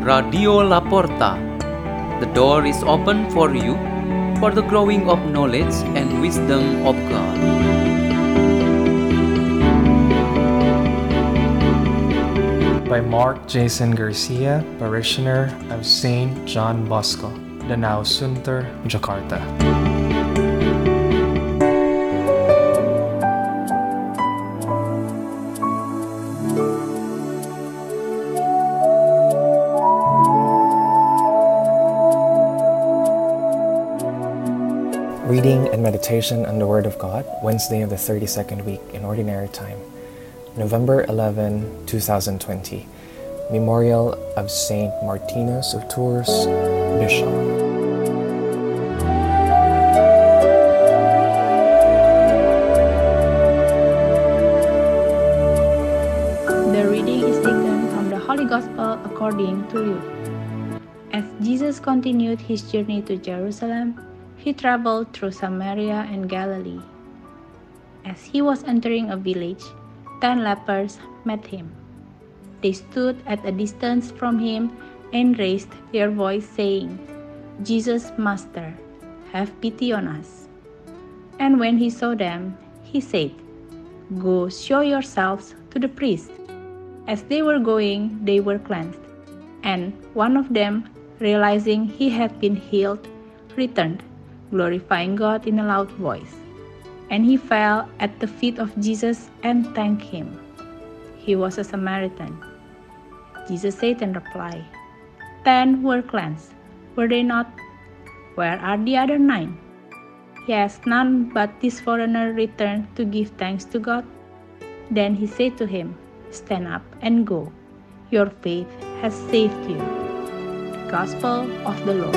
Radio Laporta. The door is open for you for the growing of knowledge and wisdom of God. By Mark Jason Garcia, parishioner of St. John Bosco, Danau Sunter, Jakarta. Reading and meditation on the Word of God, Wednesday of the 32nd week in Ordinary Time, November 11, 2020. Memorial of Saint Martinus of Tours, Bishop. The reading is taken from the Holy Gospel according to Luke. As Jesus continued his journey to Jerusalem, he traveled through Samaria and Galilee. As he was entering a village, 10 lepers met him. They stood at a distance from him and raised their voice, saying, "Jesus, Master, have pity on us." And when he saw them, he said, "Go show yourselves to the priest." As they were going, they were cleansed. And one of them, realizing he had been healed, returned, glorifying God in a loud voice. And he fell at the feet of Jesus and thanked him. He was a Samaritan. Jesus said in reply, 10 were cleansed, were they not? Where are the other 9? Yes, none but this foreigner returned to give thanks to God. Then he said to him, "Stand up and go. Your faith has saved you." Gospel of the Lord.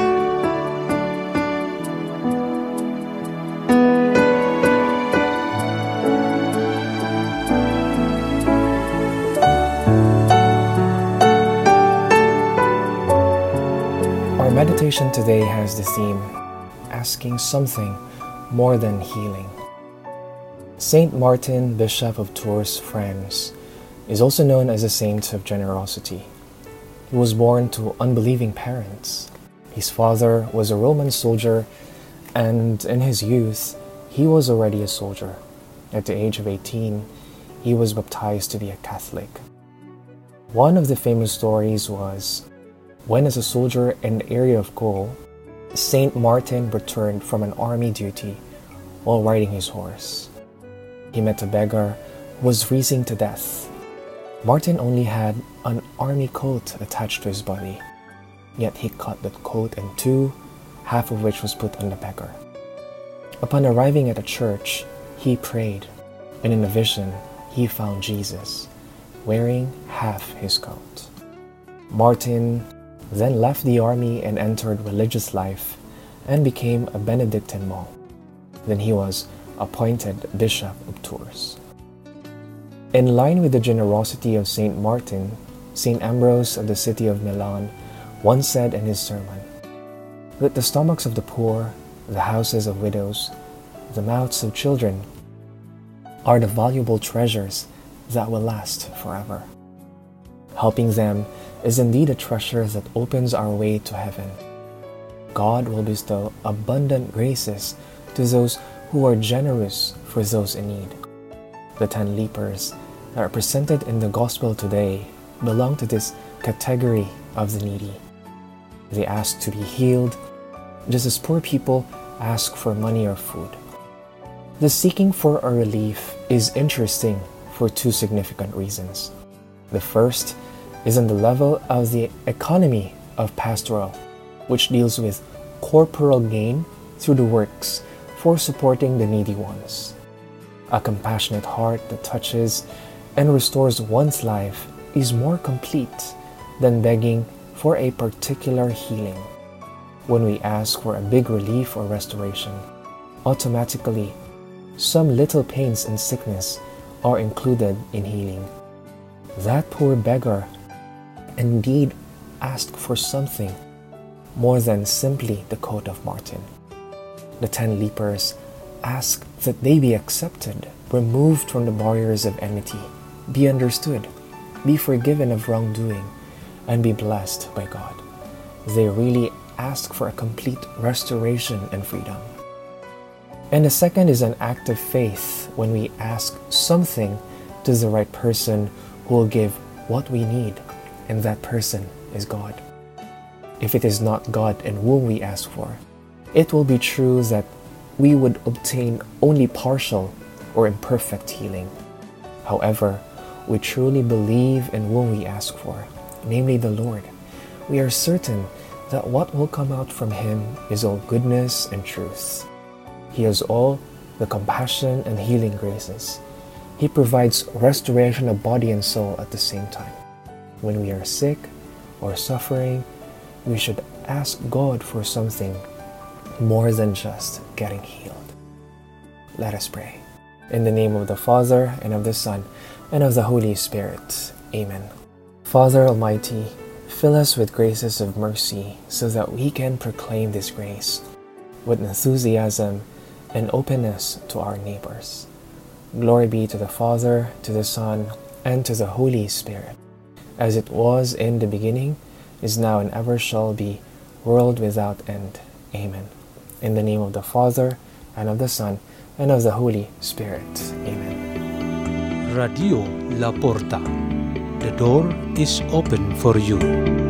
Our meditation today has the theme, asking something more than healing. Saint Martin, Bishop of Tours, France, is also known as a saint of generosity. He was born to unbelieving parents. His father was a Roman soldier, and in his youth, he was already a soldier. At the age of 18, he was baptized to be a Catholic. One of the famous stories was when, as a soldier in the area of Gaul, Saint Martin returned from an army duty while riding his horse. He met a beggar who was freezing to death. Martin only had an army coat attached to his body, yet he cut that coat in two, half of which was put on the beggar. Upon arriving at a church, he prayed, and in a vision, he found Jesus, wearing half his coat. Martin then left the army and entered religious life and became a Benedictine monk. Then he was appointed Bishop of Tours. In line with the generosity of Saint Martin, Saint Ambrose of the city of Milan once said in his sermon, "That the stomachs of the poor, the houses of widows, the mouths of children are the valuable treasures that will last forever." Helping them is indeed a treasure that opens our way to heaven. God will bestow abundant graces to those who are generous for those in need. The 10 lepers that are presented in the Gospel today belong to this category of the needy. They ask to be healed, just as poor people ask for money or food. The seeking for a relief is interesting for 2 significant reasons. The first is on the level of the economy of pastoral, which deals with corporal gain through the works for supporting the needy ones. A compassionate heart that touches and restores one's life is more complete than begging for a particular healing. When we ask for a big relief or restoration, automatically, some little pains and sickness are included in healing. That poor beggar indeed asked for something more than simply the coat of Martin. The 10 lepers asked that they be accepted, removed from the barriers of enmity, be understood, be forgiven of wrongdoing, and be blessed by God. They really ask for a complete restoration and freedom. And the second is an act of faith when we ask something to the right person who will give what we need, and that person is God. If it is not God in whom we ask for, it will be true that we would obtain only partial or imperfect healing. However, we truly believe in whom we ask for, namely the Lord. We are certain that what will come out from Him is all goodness and truth. He has all the compassion and healing graces. He provides restoration of body and soul at the same time. When we are sick or suffering, we should ask God for something more than just getting healed. Let us pray. In the name of the Father, and of the Son, and of the Holy Spirit. Amen. Father Almighty, fill us with graces of mercy so that we can proclaim this grace with enthusiasm and openness to our neighbors. Glory be to the Father, to the Son, and to the Holy Spirit, as it was in the beginning, is now, and ever shall be, world without end. Amen. In the name of the Father, and of the Son, and of the Holy Spirit. Amen. Radio La Porta. The door is open for you.